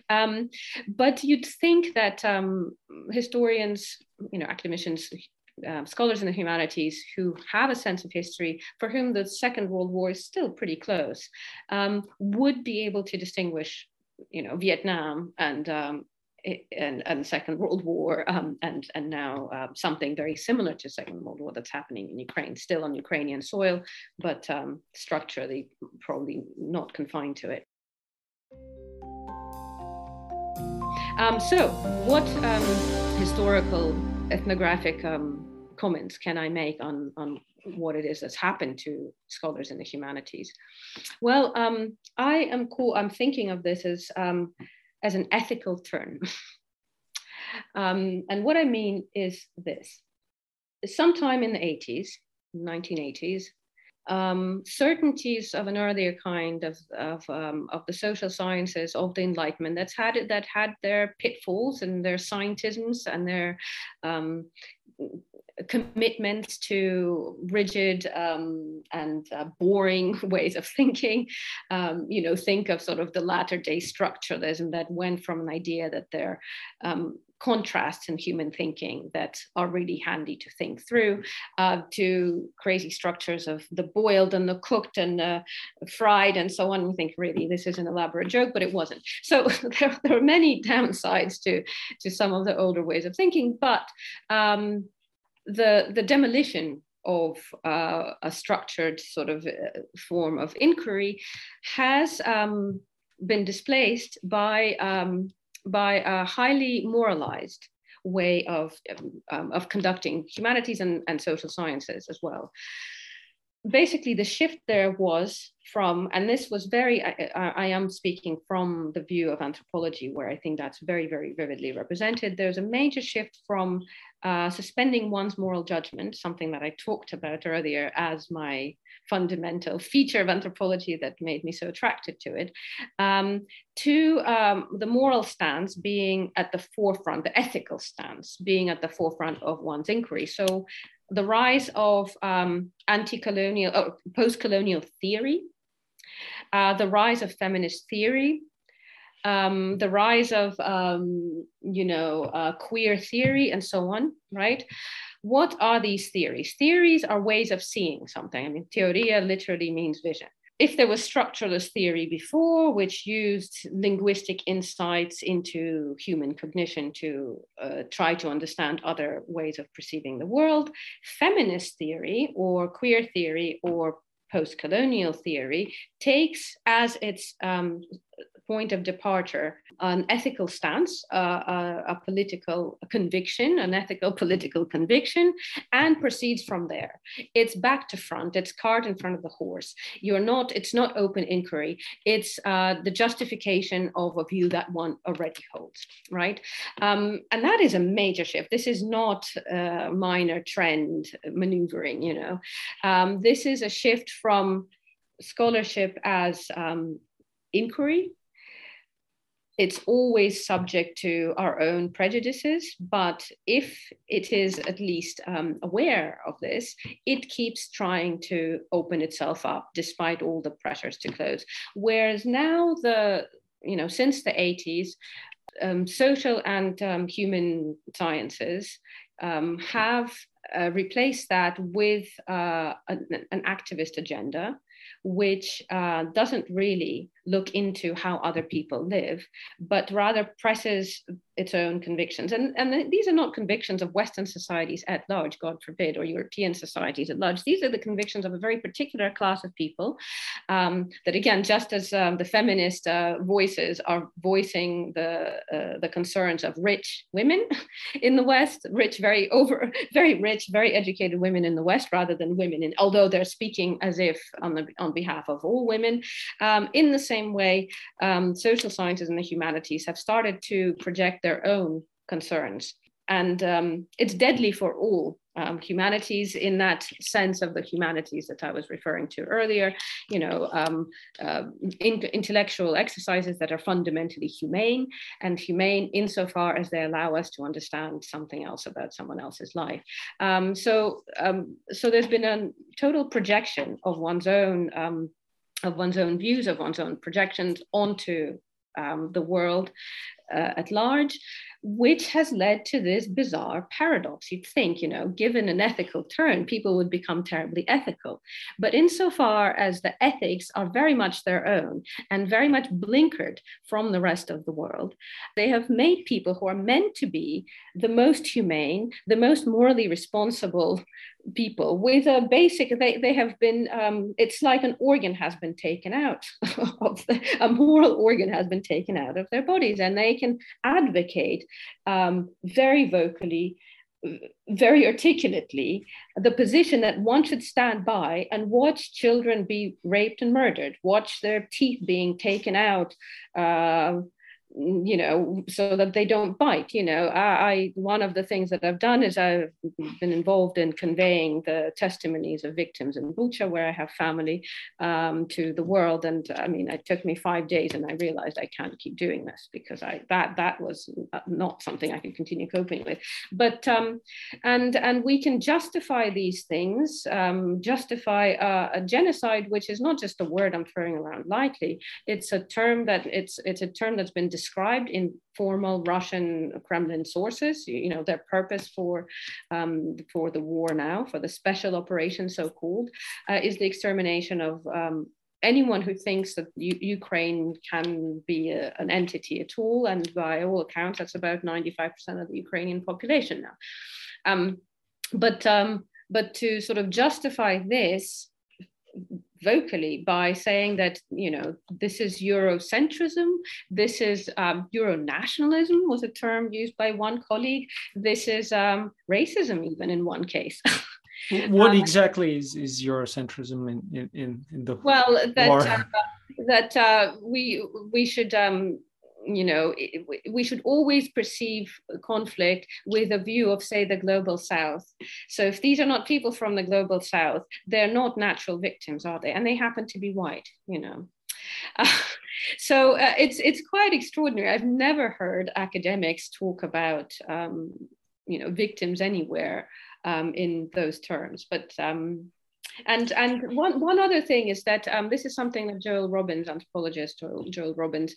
But you'd think that historians, academicians, scholars in the humanities who have a sense of history, for whom the Second World War is still pretty close, would be able to distinguish, Vietnam and the Second World War, and now something very similar to Second World War that's happening in Ukraine, still on Ukrainian soil, but structurally probably not confined to it. So what historical ethnographic comments can I make on what it is that's happened to scholars in the humanities? Well, I'm thinking of this as an ethical turn. And what I mean is this. Sometime in the 1980s, certainties of an earlier kind of the social sciences, of the Enlightenment, that had their pitfalls and their scientisms and their commitment to rigid and boring ways of thinking. Think of sort of the latter-day structuralism that went from an idea that there are contrasts in human thinking that are really handy to think through, to crazy structures of the boiled and the cooked and fried and so on. We think, really, this is an elaborate joke, but it wasn't. So there are many downsides to some of the older ways of thinking, but the demolition of a structured sort of form of inquiry has been displaced by a highly moralized way of conducting humanities and social sciences as well. Basically, the shift there was from, and this was very, I am speaking from the view of anthropology, where I think that's very, very vividly represented. There's a major shift from suspending one's moral judgment, something that I talked about earlier as my fundamental feature of anthropology that made me so attracted to it, to the moral stance being at the forefront, the ethical stance being at the forefront of one's inquiry. So the rise of anti-colonial or post-colonial theory, the rise of feminist theory, the rise of queer theory, and so on, right? What are these theories? Theories are ways of seeing something. I mean, teoria literally means vision. If there was structuralist theory before, which used linguistic insights into human cognition to try to understand other ways of perceiving the world, feminist theory or queer theory or post-colonial theory takes as its point of departure an ethical stance, a political conviction, an ethical political conviction, and proceeds from there. It's back to front, it's cart in front of the horse. It's not open inquiry, it's the justification of a view that one already holds, right? And that is a major shift. This is not minor trend maneuvering, this is a shift from scholarship as inquiry. It's always subject to our own prejudices, but if it is at least aware of this, it keeps trying to open itself up despite all the pressures to close. Whereas now, since the 80s, social and human sciences have replaced that with an activist agenda, which doesn't really look into how other people live, but rather presses its own convictions. And these are not convictions of Western societies at large, God forbid, or European societies at large. These are the convictions of a very particular class of people that, again, just as the feminist voices are voicing the concerns of rich women in the West, very rich, very educated women in the West, rather than women although they're speaking as if on behalf of all women. In the same way, social sciences and the humanities have started to project their own concerns. And it's deadly for all humanities, in that sense of the humanities that I was referring to earlier, intellectual exercises that are fundamentally humane, and humane insofar as they allow us to understand something else about someone else's life. So there's been a total projection of one's own views, of one's own projections onto the world at large, which has led to this bizarre paradox. You'd think, given an ethical turn, people would become terribly ethical. But insofar as the ethics are very much their own and very much blinkered from the rest of the world, they have made people who are meant to be the most humane, the most morally responsible people with a basic, they have been, it's like an organ has been taken out a moral organ has been taken out of their bodies, and they can advocate very vocally, very articulately, the position that one should stand by and watch children be raped and murdered, watch their teeth being taken out so that they don't bite. One of the things that I've done is I've been involved in conveying the testimonies of victims in Bucha, where I have family, to the world. And I mean, it took me 5 days, and I realized I can't keep doing this, because that was not something I could continue coping with. But and we can justify these things, justify a genocide, which is not just a word I'm throwing around lightly. It's a term that's been described in formal Russian Kremlin sources. Their purpose for the war now, for the special operation, so-called, is the extermination of anyone who thinks that Ukraine can be an entity at all. And by all accounts, that's about 95% of the Ukrainian population now. But to sort of justify this vocally by saying that, this is Eurocentrism, this is Euro-nationalism, was a term used by one colleague, this is racism even in one case. What exactly is Eurocentrism in the war? We should always perceive conflict with a view of, say, the global south. So if these are not people from the global south, they're not natural victims, are they? And they happen to be white, So it's quite extraordinary. I've never heard academics talk about victims anywhere in those terms. But and one other thing is that this is something that Joel Robbins, anthropologist Joel Robbins,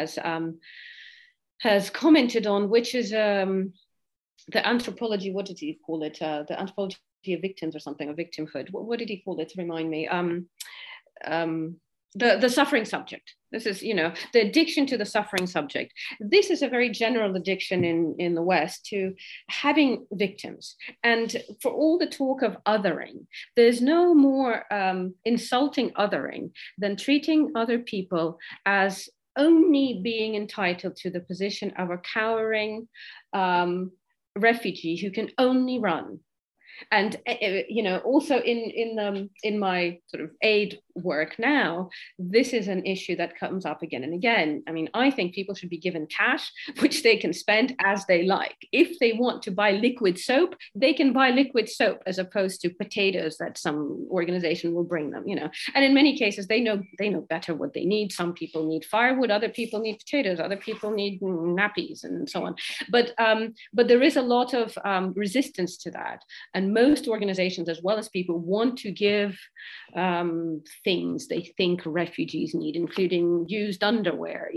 has commented on, which is the anthropology. What did he call it? The anthropology of victims or something, or victimhood. What did he call it? Remind me. The suffering subject. This is, the addiction to the suffering subject. This is a very general addiction in the West to having victims. And for all the talk of othering, there's no more insulting othering than treating other people as only being entitled to the position of a cowering refugee who can only run. And also in my sort of aid work now, this is an issue that comes up again and again. I mean, I think people should be given cash, which they can spend as they like. If they want to buy liquid soap, they can buy liquid soap, as opposed to potatoes that some organization will bring them. And in many cases, they know better what they need. Some people need firewood, other people need potatoes, other people need nappies, and so on. But there is a lot of resistance to that. And most organizations, as well as people, want to give things they think refugees need, including used underwear,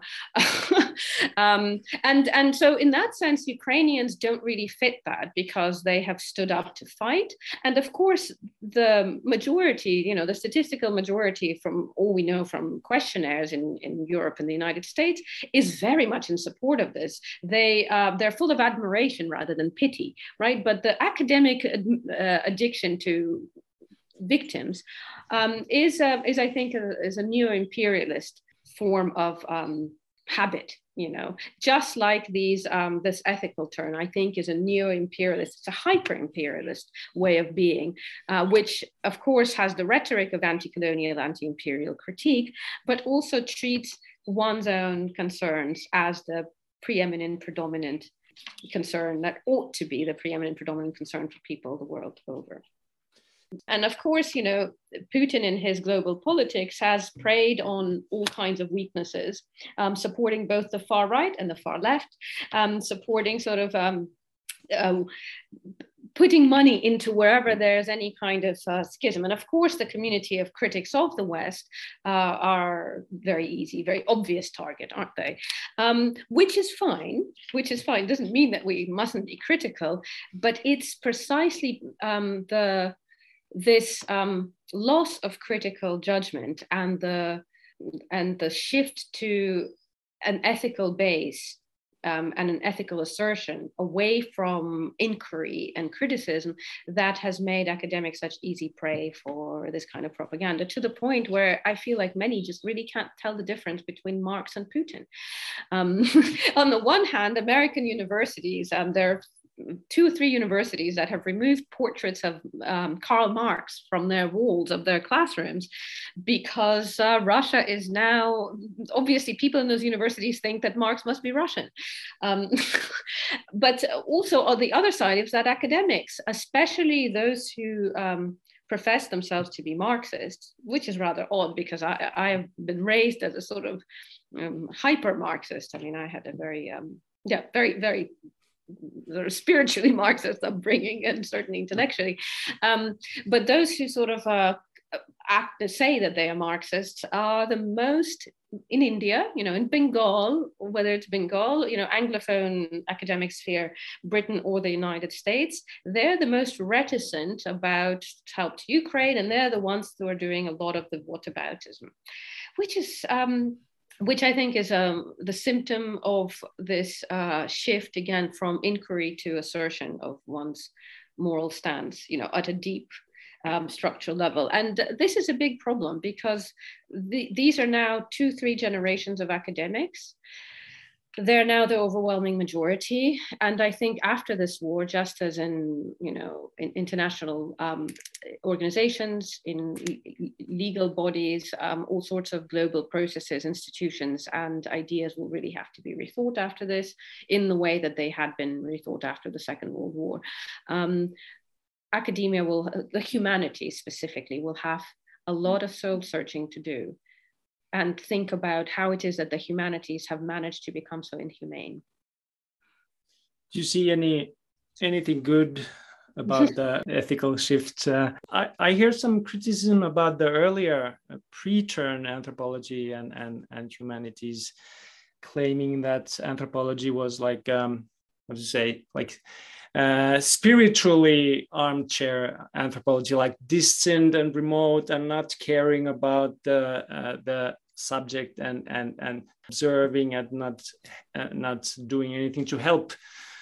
and so in that sense, Ukrainians don't really fit that, because they have stood up to fight. And of course, the majority, the statistical majority, from all we know from questionnaires in Europe and the United States, is very much in support of this. They're full of admiration rather than pity, right? But the academic addiction to victims is I think a neo-imperialist form of habit. Just like this ethical turn, I think, is a neo-imperialist, it's a hyper-imperialist way of being, which of course has the rhetoric of anti-colonial, anti-imperial critique, but also treats one's own concerns as the predominant concern that ought to be the predominant concern for people the world over. And of course, Putin in his global politics has preyed on all kinds of weaknesses, supporting both the far right and the far left, supporting sort of putting money into wherever there's any kind of schism. And of course, the community of critics of the West are very obvious target, aren't they? Which is fine, doesn't mean that we mustn't be critical, but it's precisely this loss of critical judgment and the shift to an ethical base and an ethical assertion away from inquiry and criticism that has made academics such easy prey for this kind of propaganda, to the point where I feel like many just really can't tell the difference between Marx and Putin. On the one hand, American universities, they're 2 or 3 universities that have removed portraits of Karl Marx from their walls of their classrooms because Russia is now, obviously people in those universities think that Marx must be Russian. But also on the other side is that academics, especially those who profess themselves to be Marxists, which is rather odd because I have been raised as a sort of hyper Marxist. I mean, I had a very, very, very sort of spiritually Marxist upbringing and certainly intellectually. But those who sort of say that they are Marxists are the most in India, in Bengal, whether it's Bengal, Anglophone academic sphere, Britain or the United States, they're the most reticent about help to Ukraine, and they're the ones who are doing a lot of the whataboutism, which I think is the symptom of this shift again from inquiry to assertion of one's moral stance, at a deep structural level. And this is a big problem because these are now 2-3 generations of academics. They're now the overwhelming majority. And I think after this war, just as in international organizations, in legal bodies, all sorts of global processes, institutions, and ideas will really have to be rethought after this in the way that they had been rethought after the Second World War. Academia the humanities specifically, will have a lot of soul searching to do and think about how it is that the humanities have managed to become so inhumane. Do you see anything good about the ethical shift? I hear some criticism about the earlier pre-turn anthropology and humanities, claiming that anthropology was like, spiritually armchair anthropology, like distant and remote and not caring about the subject and observing and not doing anything to help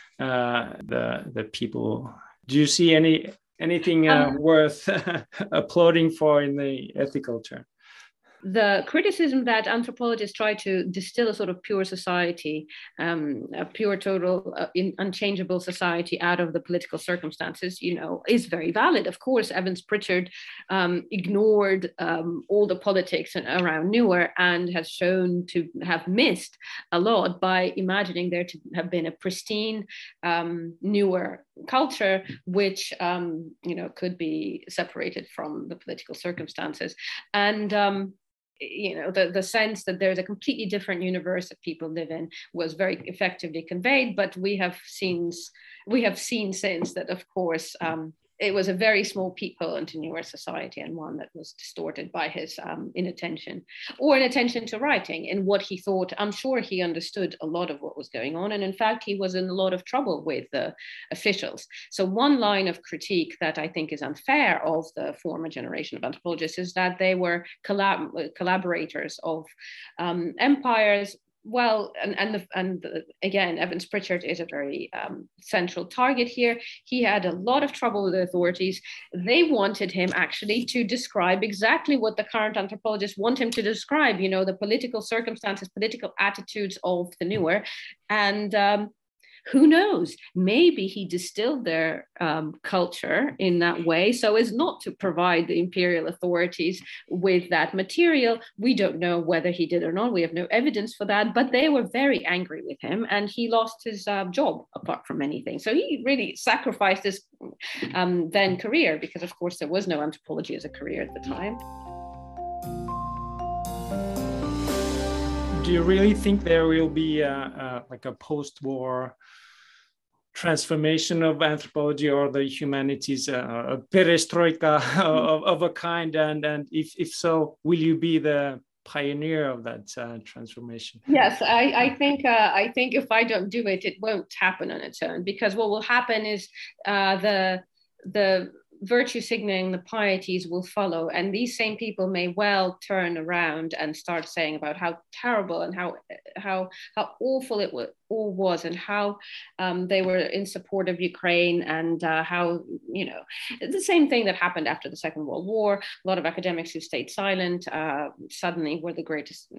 the people. Do you see anything worth applauding for in the ethical term? The criticism that anthropologists try to distill a sort of pure society, a pure, total, unchangeable society out of the political circumstances, is very valid. Of course, Evans Pritchard ignored all the politics around Newer and has shown to have missed a lot by imagining there to have been a pristine Newer culture, which could be separated from the political circumstances. And the sense that there's a completely different universe that people live in was very effectively conveyed. But we have seen since that, of course, it was a very small peephole into Newer society, and one that was distorted by his inattention to writing in what he thought. I'm sure he understood a lot of what was going on. And in fact, he was in a lot of trouble with the officials. So one line of critique that I think is unfair of the former generation of anthropologists is that they were collaborators of empires. Well, and again, Evans Pritchard is a very central target here. He had a lot of trouble with the authorities. They wanted him actually to describe exactly what the current anthropologists want him to describe, the political circumstances, political attitudes of the Newer. And who knows, maybe he distilled their culture in that way so as not to provide the imperial authorities with that material. We don't know whether he did or not. We have no evidence for that, but they were very angry with him and he lost his job, apart from anything. So he really sacrificed his then career, because of course there was no anthropology as a career at the time. Do you really think there will be like a post-war transformation of anthropology or the humanities, a perestroika of a kind? And if so, will you be the pioneer of that transformation? Yes, I think if I don't do it, it won't happen on its own, because what will happen is the virtue signaling, the pieties will follow, and these same people may well turn around and start saying about how terrible and how awful it all was, and how they were in support of Ukraine, and how the same thing that happened after the Second World War. A lot of academics who stayed silent suddenly were the greatest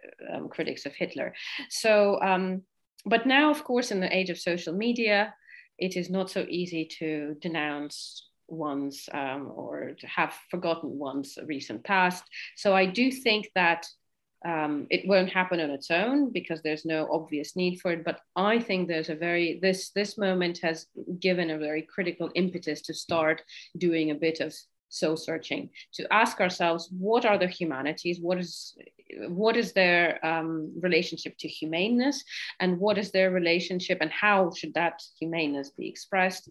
critics of Hitler. So, but now, of course, in the age of social media, it is not so easy to denounce one's or to have forgotten one's recent past. So I do think that it won't happen on its own because there's no obvious need for it. But I think there's this moment has given a very critical impetus to start doing a bit of soul searching, to ask ourselves, what are the humanities? What is their relationship to humaneness, and what is their relationship, and how should that humaneness be expressed?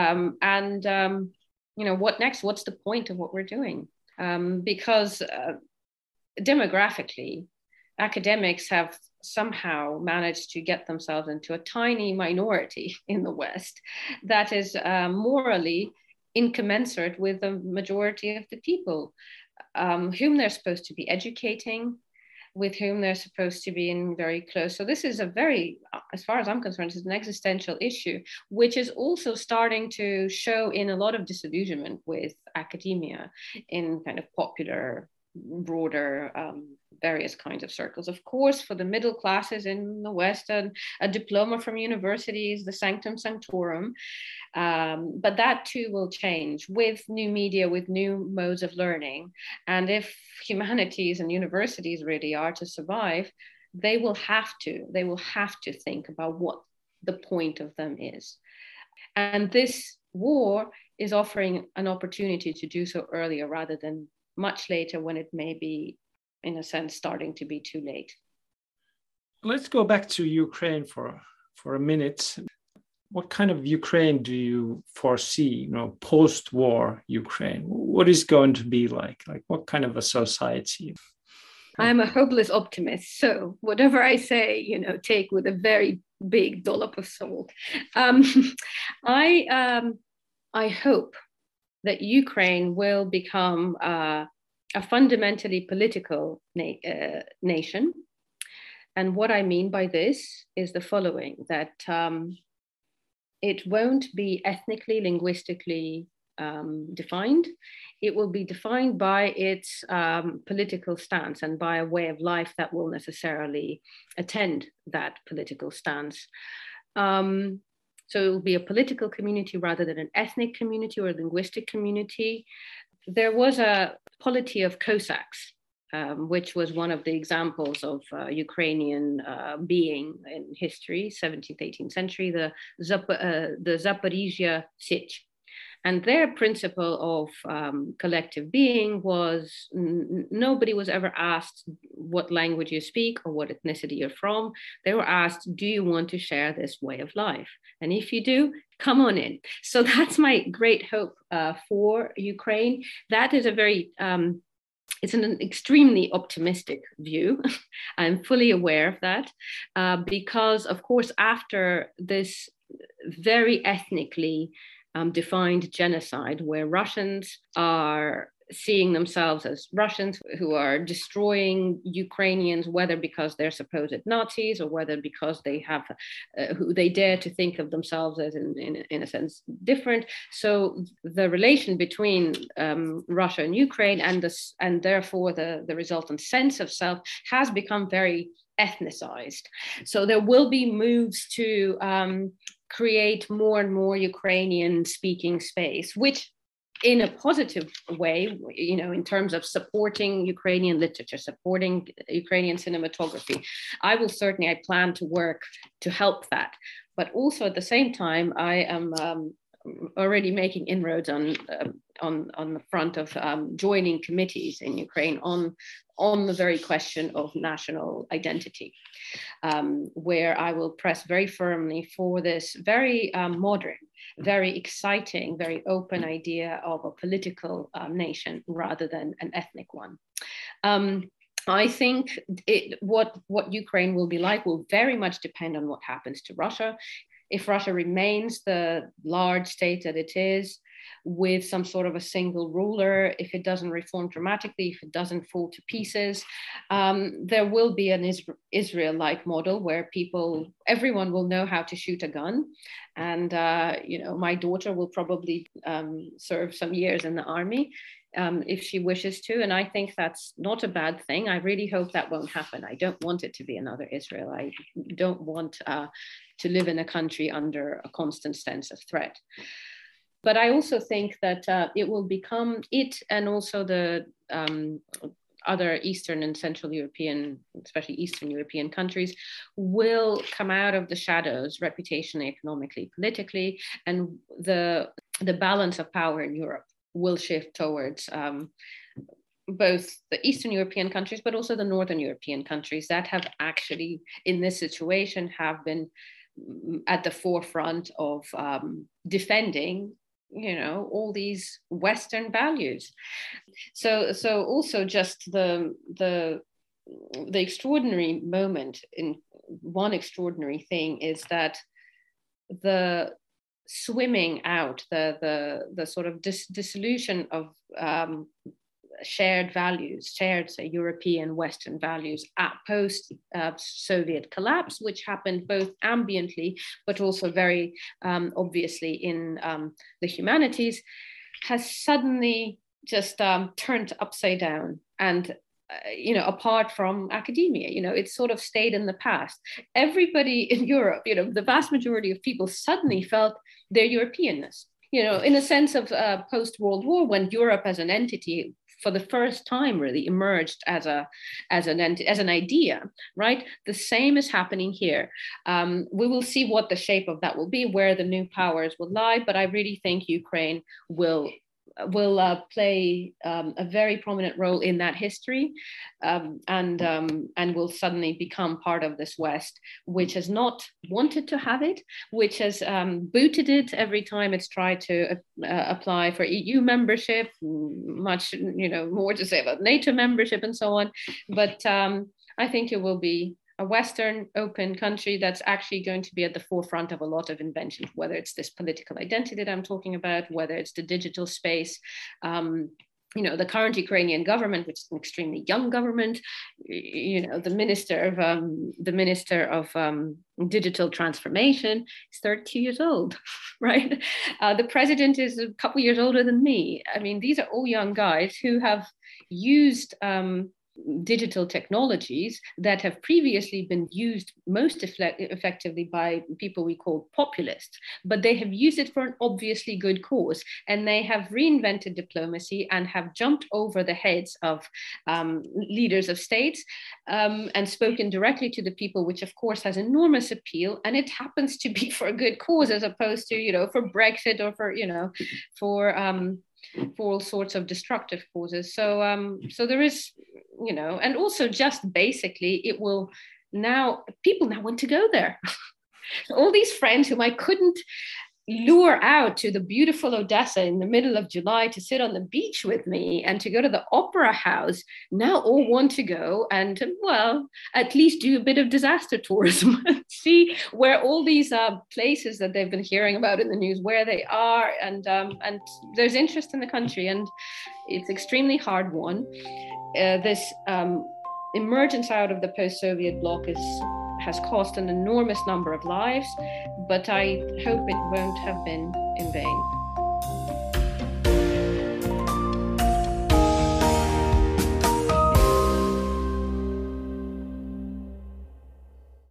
What next? What's the point of what we're doing? Because demographically, academics have somehow managed to get themselves into a tiny minority in the West that is morally incommensurate with the majority of the people whom they're supposed to be educating, with whom they're supposed to be in very close. So this is a very, as far as I'm concerned, it's an existential issue, which is also starting to show in a lot of disillusionment with academia in kind of popular, broader, various kinds of circles. Of course, for the middle classes in the West, a diploma from university is the sanctum sanctorum. But that too will change with new media, with new modes of learning. And if humanities and universities really are to survive, they will have to think about what the point of them is. And this war is offering an opportunity to do so earlier rather than much later, when it may be, in a sense, starting to be too late. Let's go back to Ukraine for a minute. What kind of Ukraine do you foresee, post-war Ukraine? What is going to be like? Like, what kind of a society? I'm a hopeless optimist, so whatever I say, take with a very big dollop of salt. I hope that Ukraine will become a fundamentally political nation. And what I mean by this is the following, that it won't be ethnically, linguistically defined. It will be defined by its political stance and by a way of life that will necessarily attend that political stance. So it will be a political community rather than an ethnic community or a linguistic community. There was a polity of Cossacks, which was one of the examples of Ukrainian being in history, 17th, 18th century, the Zaporizhia Sich. And their principle of collective being was nobody was ever asked what language you speak or what ethnicity you're from. They were asked, do you want to share this way of life? And if you do, come on in. So that's my great hope for Ukraine. That is it's an extremely optimistic view. I'm fully aware of that because, of course, after this very ethnically defined genocide, where Russians are seeing themselves as Russians who are destroying Ukrainians, whether because they're supposed Nazis or whether because they have who they dare to think of themselves as in a sense different. So the relation between Russia and Ukraine and therefore the resultant sense of self has become very ethnicized. So there will be moves to create more and more Ukrainian speaking space, which in a positive way, in terms of supporting Ukrainian literature, supporting Ukrainian cinematography. I plan to work to help that. But also at the same time, I am already making inroads on the front of joining committees in Ukraine on the very question of national identity, where I will press very firmly for this very modern, very exciting, very open idea of a political nation rather than an ethnic one. I think what Ukraine will be like will very much depend on what happens to Russia. If Russia remains the large state that it is, with some sort of a single ruler, if it doesn't reform dramatically, if it doesn't fall to pieces, there will be an Israel-like model where everyone will know how to shoot a gun. And, my daughter will probably serve some years in the army if she wishes to. And I think that's not a bad thing. I really hope that won't happen. I don't want it to be another Israel. I don't want to live in a country under a constant sense of threat. But I also think that it will become, it and also the other Eastern and Central European, especially Eastern European countries, will come out of the shadows reputationally, economically, politically, and the balance of power in Europe will shift towards both the Eastern European countries, but also the Northern European countries that have actually, in this situation, have been at the forefront of defending, all these Western values. So also just the extraordinary moment, in one extraordinary thing is that the swimming out, the sort of dissolution of shared values, shared, say, European Western values at post-Soviet collapse, which happened both ambiently, but also very obviously in the humanities, has suddenly just turned upside down. And apart from academia, it's sort of stayed in the past. Everybody in Europe, the vast majority of people suddenly felt their Europeanness, in a sense of post-World War, when Europe as an entity for the first time really emerged as an idea, right? The same is happening here. We will see what the shape of that will be, where the new powers will lie, but I really think Ukraine will play a very prominent role in that history, and will suddenly become part of this West, which has not wanted to have it, which has booted it every time it's tried to apply for EU membership, much more to say about NATO membership and so on. But I think it will be a Western open country that's actually going to be at the forefront of a lot of inventions, whether it's this political identity that I'm talking about, whether it's the digital space. The current Ukrainian government, which is an extremely young government, the minister of digital transformation is 32 years old, right? The president is a couple years older than me. I mean, these are all young guys who have used digital technologies that have previously been used most effectively by people we call populists, but they have used it for an obviously good cause, and they have reinvented diplomacy and have jumped over the heads of leaders of states and spoken directly to the people, which of course has enormous appeal, and it happens to be for a good cause as opposed to for Brexit or for all sorts of destructive causes. So there is, and also just basically it will people now want to go there. All these friends whom I couldn't lure out to the beautiful Odessa in the middle of July to sit on the beach with me and to go to the opera house now all want to go and, well, at least do a bit of disaster tourism, see where all these places that they've been hearing about in the news, where they are, and there's interest in the country, and it's extremely hard won. This emergence out of the post-Soviet bloc has cost an enormous number of lives, but I hope it won't have been in vain.